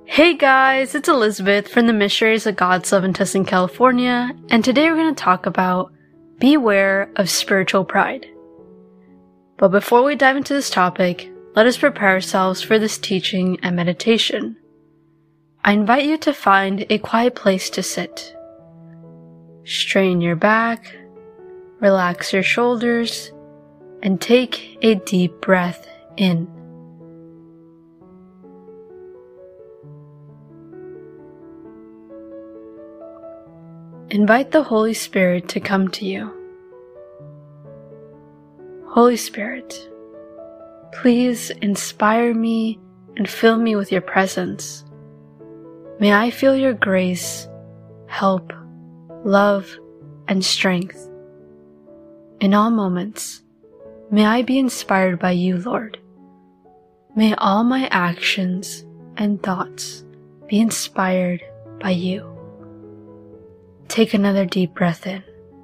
Hey guys, it's Elizabeth from the Missionaries of God's Love in Tustin, California, and today we're going to talk about beware of spiritual pride. But before we dive into this topic, let us prepare ourselves for this teaching and meditation. I invite you to find a quiet place to sit. Straighten your back, relax your shoulders, and take a deep breath in. Invite the Holy Spirit to come to you. Holy Spirit, please inspire me and fill me with your presence. May I feel your grace, help, love, and strength. In all moments, may I be inspired by you, Lord. May all my actions and thoughts be inspired by you. Take another deep breath in.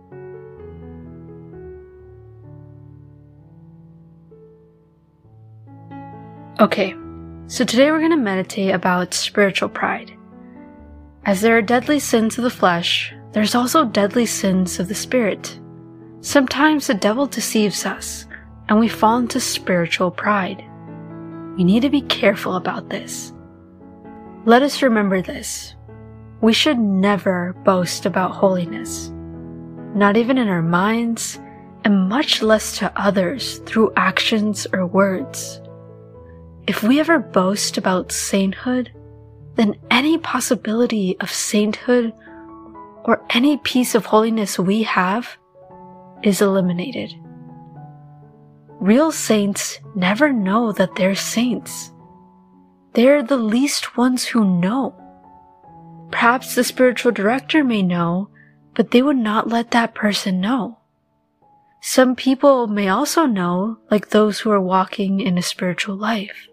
Okay, so today we're going to meditate about spiritual pride. As there are deadly sins of the flesh, there's also deadly sins of the spirit. Sometimes the devil deceives us, and we fall into spiritual pride. We need to be careful about this. Let us remember this. We should never boast about holiness, not even in our minds, and much less to others through actions or words. If we ever boast about sainthood, then any possibility of sainthood or any piece of holiness we have is eliminated. Real saints never know that they're saints. They're the least ones who know. Perhaps the spiritual director may know, but they would not let that person know. Some people may also know, like those who are walking in a spiritual life.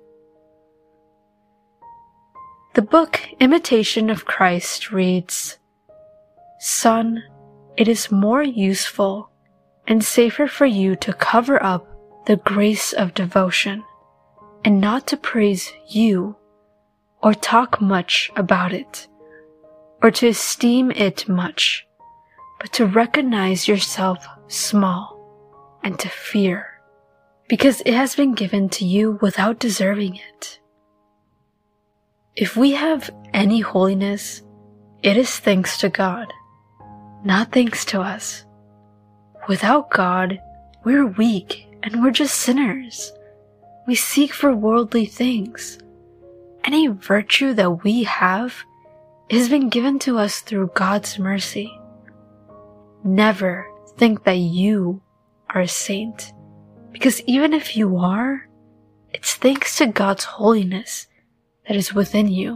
The book Imitation of Christ reads, "Son, it is more useful and safer for you to cover up the grace of devotion and not to praise you or talk much about it, or to esteem it much, but to recognize yourself small and to fear, because it has been given to you without deserving it." If we have any holiness, it is thanks to God, not thanks to us. Without God, we're weak and we're just sinners. We seek for worldly things. Any virtue that we have has been given to us through God's mercy. Never think that you are a saint, because even if you are, it's thanks to God's holiness that is within you.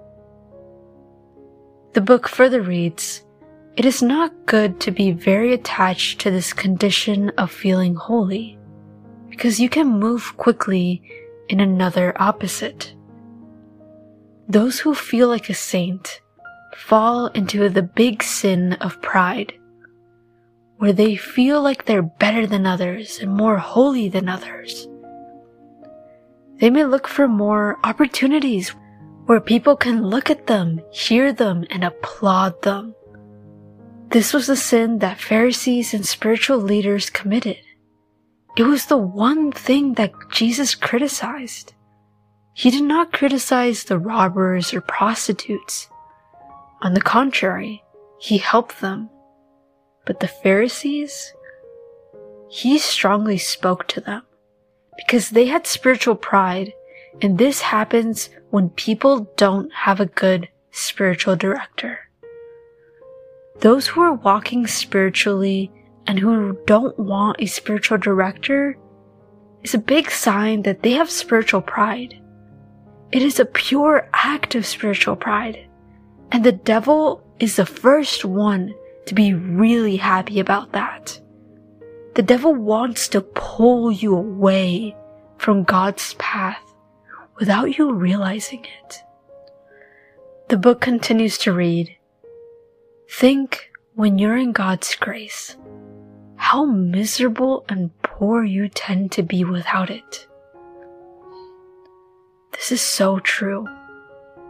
The book further reads, "It is not good to be very attached to this condition of feeling holy, because you can move quickly in another opposite. Those who feel like a saint fall into the big sin of pride, where they feel like they're better than others and more holy than others. They may look for more opportunities where people can look at them, hear them, and applaud them. This was the sin that Pharisees and spiritual leaders committed. It was the one thing that Jesus criticized. He did not criticize the robbers or prostitutes. On the contrary, he helped them. But the Pharisees, he strongly spoke to them because they had spiritual pride, and this happens when people don't have a good spiritual director. Those who are walking spiritually and who don't want a spiritual director is a big sign that they have spiritual pride. It is a pure act of spiritual pride, and the devil is the first one to be really happy about that. The devil wants to pull you away from God's path without you realizing it. The book continues to read, "Think when you're in God's grace, how miserable and poor you tend to be without it." This is so true.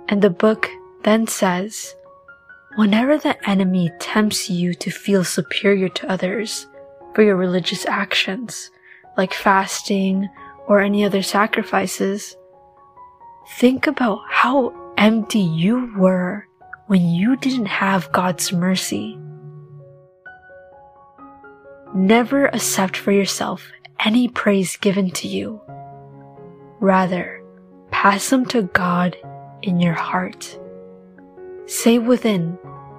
And the book then says, whenever the enemy tempts you to feel superior to others for your religious actions, like fasting or any other sacrifices, think about how empty you were when you didn't have God's mercy. Never accept for yourself any praise given to you. Rather, pass them to God in your heart. Say within,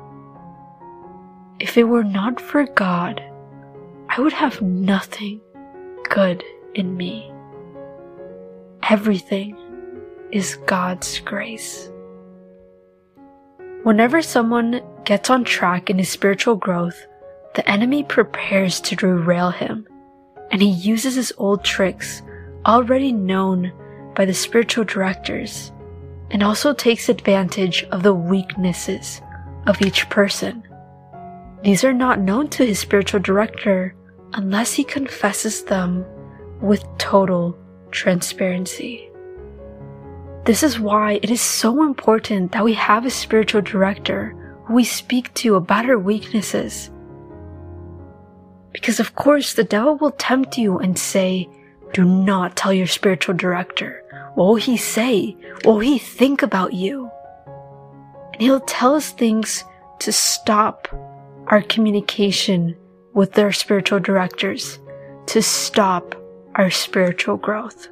if it were not for God, I would have nothing good in me. Everything is God's grace. Whenever someone gets on track in his spiritual growth, the enemy prepares to derail him, and he uses his old tricks already known by the spiritual directors, and also takes advantage of the weaknesses of each person. These are not known to his spiritual director unless he confesses them with total transparency. This is why it is so important that we have a spiritual director who we speak to about our weaknesses. Because of course the devil will tempt you and say, do not tell your spiritual director. What will he say? What will he think about you? And he'll tell us things to stop our communication with our spiritual directors, to stop our spiritual growth.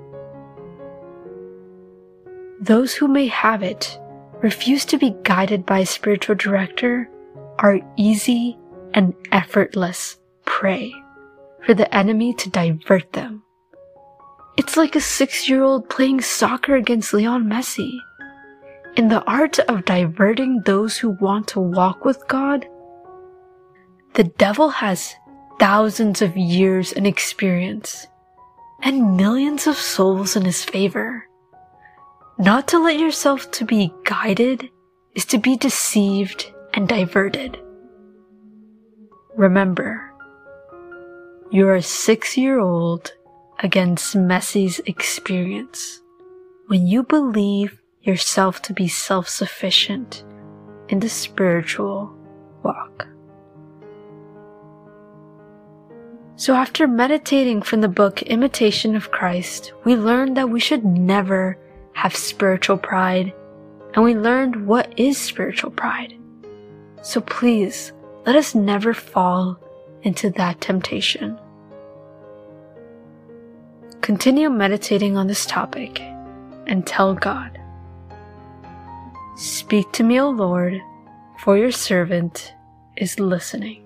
Those who may have it, refuse to be guided by a spiritual director, are easy and effortless prey for the enemy to divert them. It's like a 6-year-old playing soccer against Lionel Messi. In the art of diverting those who want to walk with God, the devil has thousands of years in experience and millions of souls in his favor. Not to let yourself to be guided is to be deceived and diverted. Remember, you're a 6-year-old against Messi's experience when you believe yourself to be self-sufficient in the spiritual walk. So after meditating from the book Imitation of Christ, we learned that we should never have spiritual pride, and we learned what is spiritual pride. So please, let us never fall into that temptation. Continue meditating on this topic and tell God, "Speak to me, O Lord, for your servant is listening."